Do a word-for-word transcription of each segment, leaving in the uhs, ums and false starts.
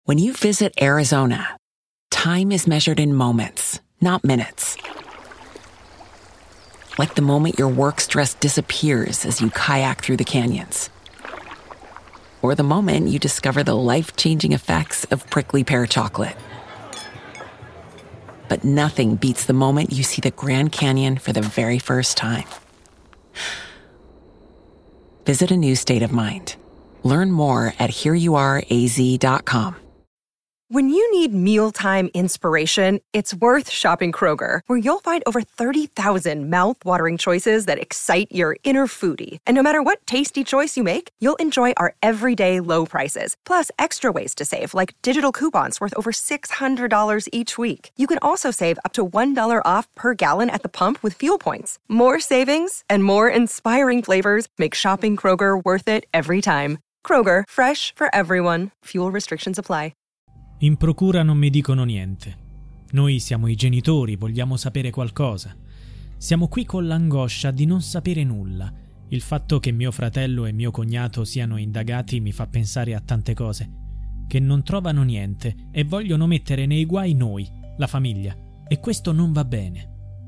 When you visit Arizona, time is measured in moments, not minutes. Like the moment your work stress disappears as you kayak through the canyons. Or the moment you discover the life-changing effects of prickly pear chocolate. But nothing beats the moment you see the Grand Canyon for the very first time. Visit a new state of mind. Learn more at here you are a z dot com. When you need mealtime inspiration, it's worth shopping Kroger, where you'll find over thirty thousand mouth-watering choices that excite your inner foodie. And no matter what tasty choice you make, you'll enjoy our everyday low prices, plus extra ways to save, like digital coupons worth over six hundred dollars each week. You can also save up to one dollar off per gallon at the pump with fuel points. More savings and more inspiring flavors make shopping Kroger worth it every time. Kroger, fresh for everyone. Fuel restrictions apply. In procura non mi dicono niente. Noi siamo i genitori, vogliamo sapere qualcosa. Siamo qui con l'angoscia di non sapere nulla. Il fatto che mio fratello e mio cognato siano indagati mi fa pensare a tante cose. Che non trovano niente e vogliono mettere nei guai noi, la famiglia. E questo non va bene.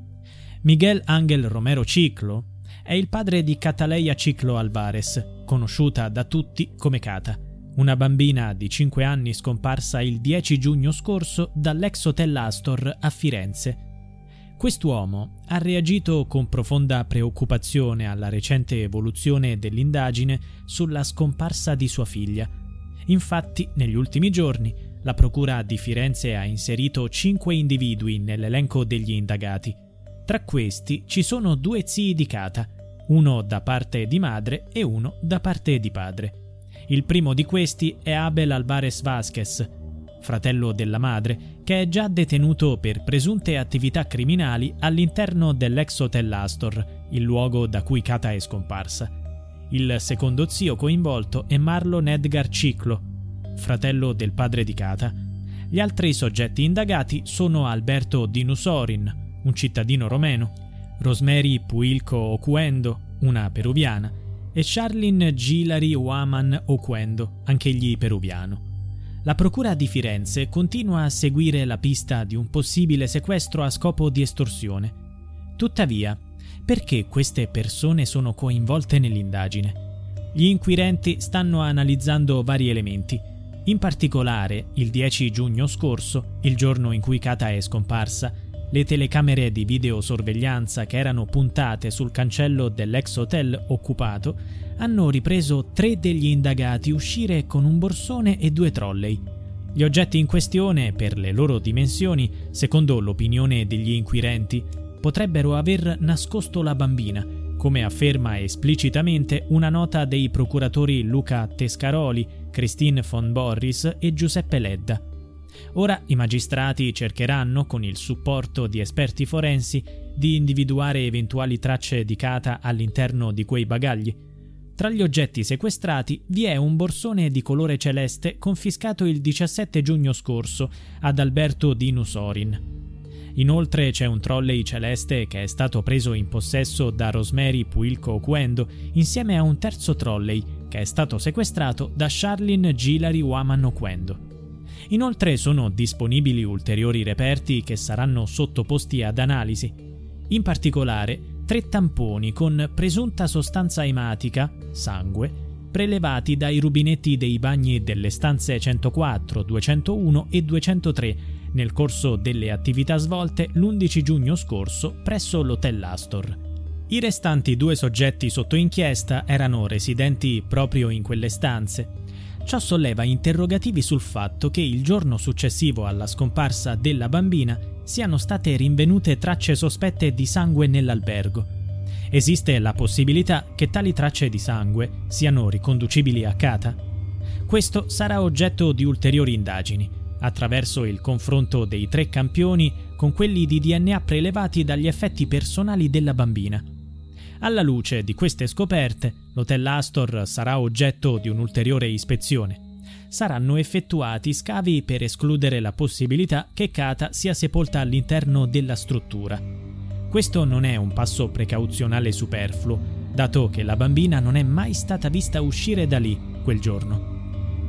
Miguel Ángel Romero Ciclo è il padre di Cataleya Ciclo Alvarez, conosciuta da tutti come Cata. Una bambina di cinque anni scomparsa il dieci giugno scorso dall'ex hotel Astor a Firenze. Quest'uomo ha reagito con profonda preoccupazione alla recente evoluzione dell'indagine sulla scomparsa di sua figlia. Infatti, negli ultimi giorni, la procura di Firenze ha inserito cinque individui nell'elenco degli indagati. Tra questi ci sono due zii di Cata, uno da parte di madre e uno da parte di padre. Il primo di questi è Abel Alvarez Vázquez, fratello della madre, che è già detenuto per presunte attività criminali all'interno dell'ex hotel Astor, il luogo da cui Cata è scomparsa. Il secondo zio coinvolto è Marlon Edgar Ciclo, fratello del padre di Cata. Gli altri soggetti indagati sono Alberto Dinusorin, un cittadino romeno, Rosemary Puilco Oquendo, una peruviana, e Charlene Gilary Waman Oquendo, anch'egli peruviano. La procura di Firenze continua a seguire la pista di un possibile sequestro a scopo di estorsione. Tuttavia, perché queste persone sono coinvolte nell'indagine? Gli inquirenti stanno analizzando vari elementi. In particolare, il dieci giugno scorso, il giorno in cui Cata è scomparsa, le telecamere di videosorveglianza che erano puntate sul cancello dell'ex hotel occupato hanno ripreso tre degli indagati uscire con un borsone e due trolley. Gli oggetti in questione, per le loro dimensioni, secondo l'opinione degli inquirenti, potrebbero aver nascosto la bambina, come afferma esplicitamente una nota dei procuratori Luca Tescaroli, Christine von Borris e Giuseppe Ledda. Ora i magistrati cercheranno, con il supporto di esperti forensi, di individuare eventuali tracce di Cata all'interno di quei bagagli. Tra gli oggetti sequestrati vi è un borsone di colore celeste confiscato il diciassette giugno scorso ad Alberto Dinusorin. Inoltre c'è un trolley celeste che è stato preso in possesso da Rosemary Puilco Oquendo insieme a un terzo trolley che è stato sequestrato da Charlene Gilary Waman Oquendo. Inoltre sono disponibili ulteriori reperti che saranno sottoposti ad analisi. In particolare, tre tamponi con presunta sostanza ematica, sangue, prelevati dai rubinetti dei bagni delle stanze centoquattro, duecentouno e duecentotre nel corso delle attività svolte l'undici giugno scorso presso l'hotel Astor. I restanti due soggetti sotto inchiesta erano residenti proprio in quelle stanze. Ciò solleva interrogativi sul fatto che il giorno successivo alla scomparsa della bambina siano state rinvenute tracce sospette di sangue nell'albergo. Esiste la possibilità che tali tracce di sangue siano riconducibili a Cata? Questo sarà oggetto di ulteriori indagini, attraverso il confronto dei tre campioni con quelli di D N A prelevati dagli effetti personali della bambina. Alla luce di queste scoperte, l'hotel Astor sarà oggetto di un'ulteriore ispezione. Saranno effettuati scavi per escludere la possibilità che Cata sia sepolta all'interno della struttura. Questo non è un passo precauzionale superfluo, dato che la bambina non è mai stata vista uscire da lì quel giorno.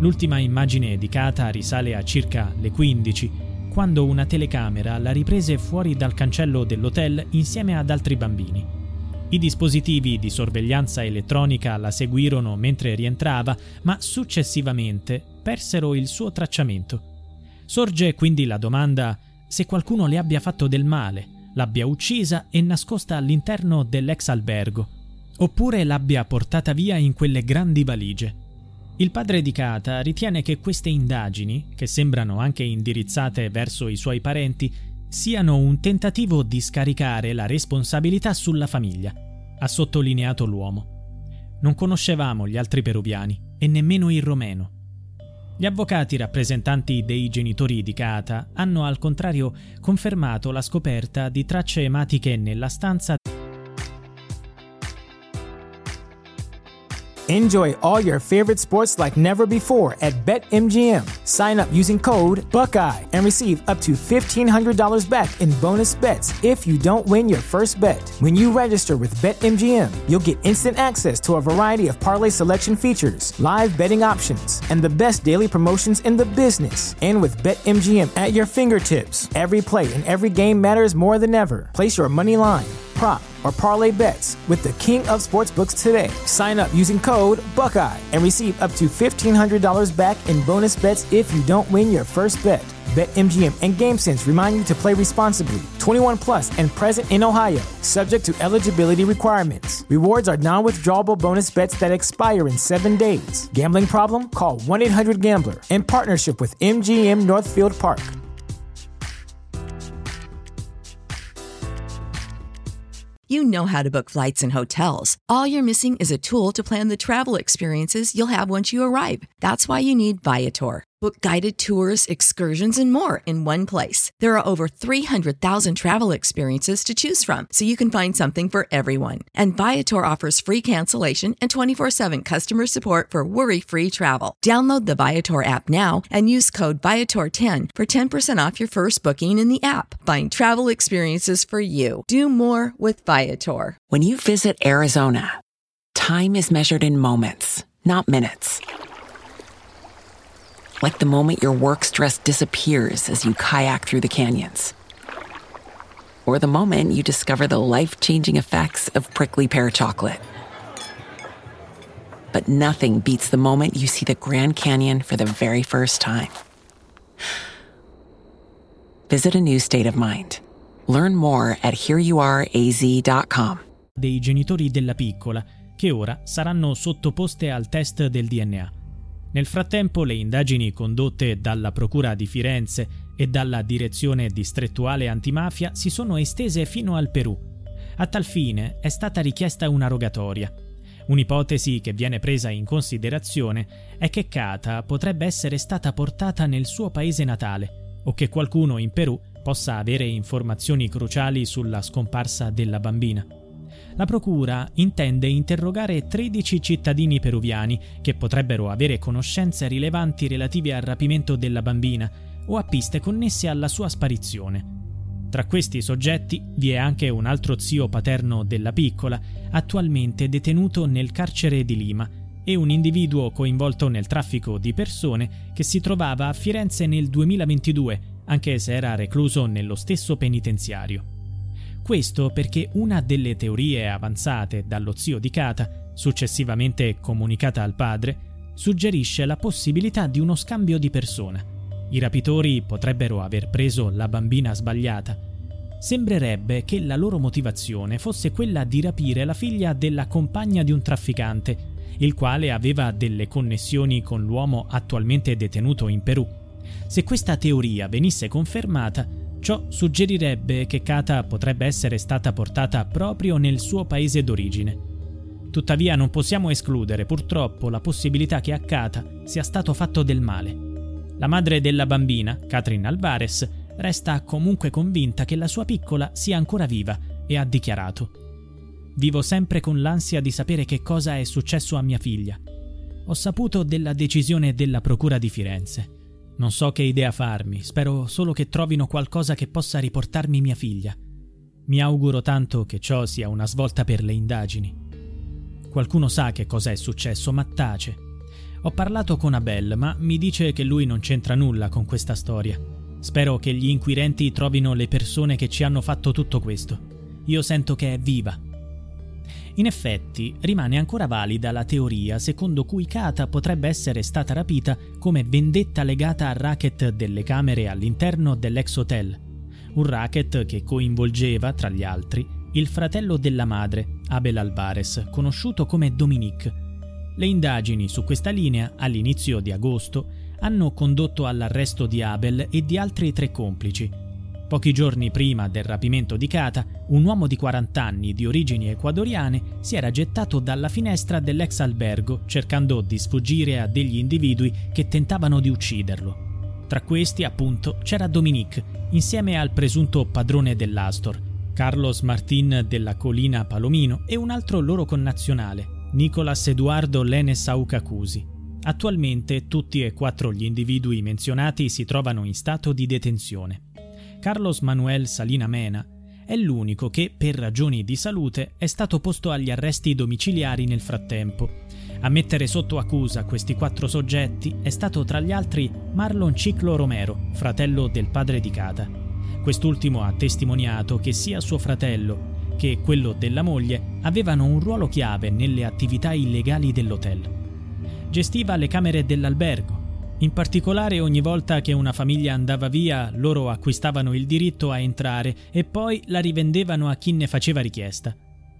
L'ultima immagine di Kata risale a circa le quindici, quando una telecamera la riprese fuori dal cancello dell'hotel insieme ad altri bambini. I dispositivi di sorveglianza elettronica la seguirono mentre rientrava, ma successivamente persero il suo tracciamento. Sorge quindi la domanda se qualcuno le abbia fatto del male, l'abbia uccisa e nascosta all'interno dell'ex albergo, oppure l'abbia portata via in quelle grandi valigie. Il padre di Kata ritiene che queste indagini, che sembrano anche indirizzate verso i suoi parenti, siano un tentativo di scaricare la responsabilità sulla famiglia, ha sottolineato l'uomo. Non conoscevamo gli altri peruviani e nemmeno il romeno. Gli avvocati rappresentanti dei genitori di Kata hanno al contrario confermato la scoperta di tracce ematiche nella stanza. Enjoy all your favorite sports like never before at BetMGM. Sign up using code Buckeye and receive up to fifteen hundred dollars back in bonus bets if you don't win your first bet. When you register with BetMGM, you'll get instant access to a variety of parlay selection features, live betting options, and the best daily promotions in the business. And with BetMGM at your fingertips, every play and every game matters more than ever. Place your money line, prop, or parlay bets with the king of sportsbooks today. Sign up using code Buckeye and receive up to fifteen hundred dollars back in bonus bets if you don't win your first bet. BetMGM and GameSense remind you to play responsibly. twenty-one plus and present in Ohio, subject to eligibility requirements. Rewards are non-withdrawable bonus bets that expire in seven days. Gambling problem? Call one eight hundred gambler in partnership with M G M Northfield Park. You know how to book flights and hotels. All you're missing is a tool to plan the travel experiences you'll have once you arrive. That's why you need Viator. Book guided tours, excursions, and more in one place. There are over three hundred thousand travel experiences to choose from, so you can find something for everyone. And Viator offers free cancellation and twenty-four seven customer support for worry-free travel. Download the Viator app now and use code Viator ten for ten percent off your first booking in the app. Find travel experiences for you. Do more with Viator. When you visit Arizona, time is measured in moments, not minutes. Like the moment your work stress disappears as you kayak through the canyons. Or the moment you discover the life-changing effects of prickly pear chocolate. But nothing beats the moment you see the Grand Canyon for the very first time. Visit a new state of mind. Learn more at here you are a z dot com. Dei genitori della piccola, che ora saranno sottoposte al test del D N A. Nel frattempo le indagini condotte dalla Procura di Firenze e dalla Direzione Distrettuale Antimafia si sono estese fino al Perù. A tal fine è stata richiesta una rogatoria. Un'ipotesi che viene presa in considerazione è che Kata potrebbe essere stata portata nel suo paese natale o che qualcuno in Perù possa avere informazioni cruciali sulla scomparsa della bambina. La procura intende interrogare tredici cittadini peruviani che potrebbero avere conoscenze rilevanti relative al rapimento della bambina o a piste connesse alla sua sparizione. Tra questi soggetti vi è anche un altro zio paterno della piccola, attualmente detenuto nel carcere di Lima, e un individuo coinvolto nel traffico di persone che si trovava a Firenze nel duemilaventidue, anche se era recluso nello stesso penitenziario. Questo perché una delle teorie avanzate dallo zio di Kata, successivamente comunicata al padre, suggerisce la possibilità di uno scambio di persona. I rapitori potrebbero aver preso la bambina sbagliata. Sembrerebbe che la loro motivazione fosse quella di rapire la figlia della compagna di un trafficante, il quale aveva delle connessioni con l'uomo attualmente detenuto in Perù. Se questa teoria venisse confermata, ciò suggerirebbe che Kata potrebbe essere stata portata proprio nel suo paese d'origine. Tuttavia non possiamo escludere purtroppo la possibilità che a Kata sia stato fatto del male. La madre della bambina, Catherine Alvarez, resta comunque convinta che la sua piccola sia ancora viva e ha dichiarato: «Vivo sempre con l'ansia di sapere che cosa è successo a mia figlia. Ho saputo della decisione della Procura di Firenze. Non so che idea farmi, spero solo che trovino qualcosa che possa riportarmi mia figlia. Mi auguro tanto che ciò sia una svolta per le indagini. Qualcuno sa che cosa è successo, ma tace. Ho parlato con Abel, ma mi dice che lui non c'entra nulla con questa storia. Spero che gli inquirenti trovino le persone che ci hanno fatto tutto questo. Io sento che è viva. In effetti, rimane ancora valida la teoria secondo cui Kata potrebbe essere stata rapita come vendetta legata al racket delle camere all'interno dell'ex hotel. Un racket che coinvolgeva, tra gli altri, il fratello della madre, Abel Alvarez, conosciuto come Dominique. Le indagini su questa linea, all'inizio di agosto, hanno condotto all'arresto di Abel e di altri tre complici. Pochi giorni prima del rapimento di Kata, un uomo di quaranta anni di origini ecuadoriane si era gettato dalla finestra dell'ex albergo cercando di sfuggire a degli individui che tentavano di ucciderlo. Tra questi, appunto, c'era Dominique, insieme al presunto padrone dell'Astor, Carlos Martín della Colina Palomino, e un altro loro connazionale, Nicolás Eduardo Lenes Aucacusi. Attualmente tutti e quattro gli individui menzionati si trovano in stato di detenzione. Carlos Manuel Salina Mena è l'unico che, per ragioni di salute, è stato posto agli arresti domiciliari nel frattempo. A mettere sotto accusa questi quattro soggetti è stato tra gli altri Marlon Ciclo Romero, fratello del padre di Kata. Quest'ultimo ha testimoniato che sia suo fratello che quello della moglie avevano un ruolo chiave nelle attività illegali dell'hotel. Gestiva le camere dell'albergo. In particolare, ogni volta che una famiglia andava via, loro acquistavano il diritto a entrare e poi la rivendevano a chi ne faceva richiesta.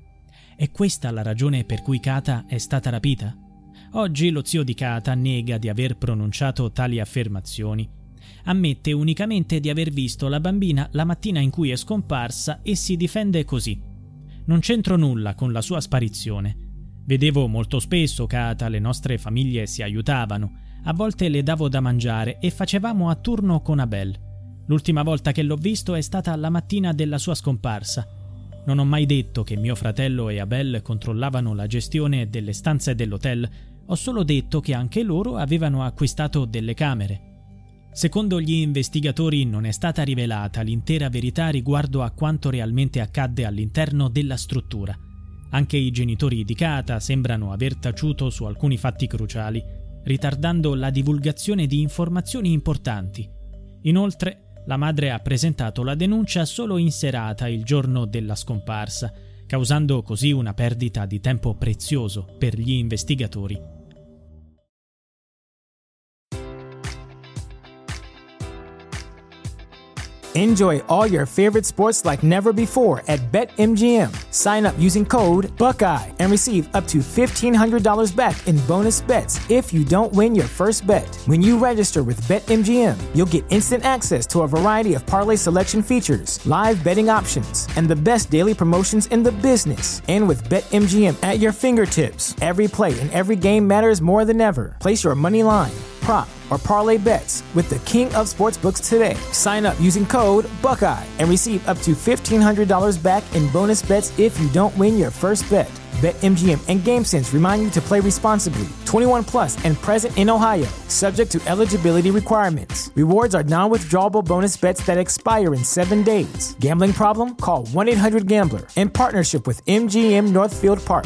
È questa la ragione per cui Kata è stata rapita? Oggi lo zio di Kata nega di aver pronunciato tali affermazioni. Ammette unicamente di aver visto la bambina la mattina in cui è scomparsa e si difende così: non c'entro nulla con la sua sparizione. Vedevo molto spesso Kata, le nostre famiglie si aiutavano. A volte le davo da mangiare e facevamo a turno con Abel. L'ultima volta che l'ho visto è stata la mattina della sua scomparsa. Non ho mai detto che mio fratello e Abel controllavano la gestione delle stanze dell'hotel, ho solo detto che anche loro avevano acquistato delle camere. Secondo gli investigatori non è stata rivelata l'intera verità riguardo a quanto realmente accadde all'interno della struttura. Anche i genitori di Kata sembrano aver taciuto su alcuni fatti cruciali, ritardando la divulgazione di informazioni importanti. Inoltre, la madre ha presentato la denuncia solo in serata il giorno della scomparsa, causando così una perdita di tempo prezioso per gli investigatori. Enjoy all your favorite sports like never before at BetMGM. Sign up using code Buckeye and receive up to fifteen hundred dollars back in bonus bets if you don't win your first bet. When you register with BetMGM, you'll get instant access to a variety of parlay selection features, live betting options, and the best daily promotions in the business. And with BetMGM at your fingertips, every play and every game matters more than ever. Place your money line, prop, or parlay bets with the king of sportsbooks today. Sign up using code Buckeye and receive up to fifteen hundred dollars back in bonus bets if you don't win your first bet. BetMGM and GameSense remind you to play responsibly. twenty-one plus and present in Ohio, subject to eligibility requirements. Rewards are non-withdrawable bonus bets that expire in seven days. Gambling problem? Call one eight hundred gambler. In partnership with M G M Northfield Park.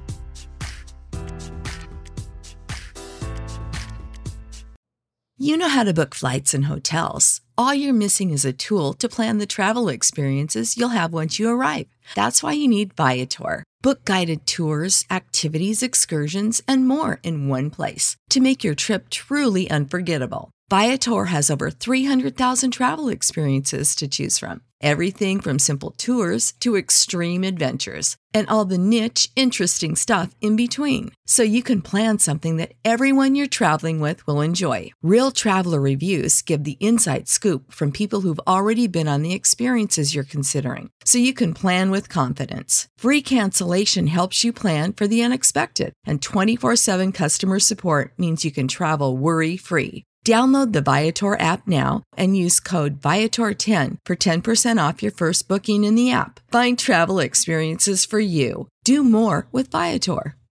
You know how to book flights and hotels. All you're missing is a tool to plan the travel experiences you'll have once you arrive. That's why you need Viator. Book guided tours, activities, excursions, and more in one place to make your trip truly unforgettable. Viator has over three hundred thousand travel experiences to choose from. Everything from simple tours to extreme adventures and all the niche, interesting stuff in between. So you can plan something that everyone you're traveling with will enjoy. Real traveler reviews give the inside scoop from people who've already been on the experiences you're considering. So you can plan with confidence. Free cancellation helps you plan for the unexpected. And twenty-four seven customer support means you can travel worry-free. Download the Viator app now and use code Viator ten for ten percent off your first booking in the app. Find travel experiences for you. Do more with Viator.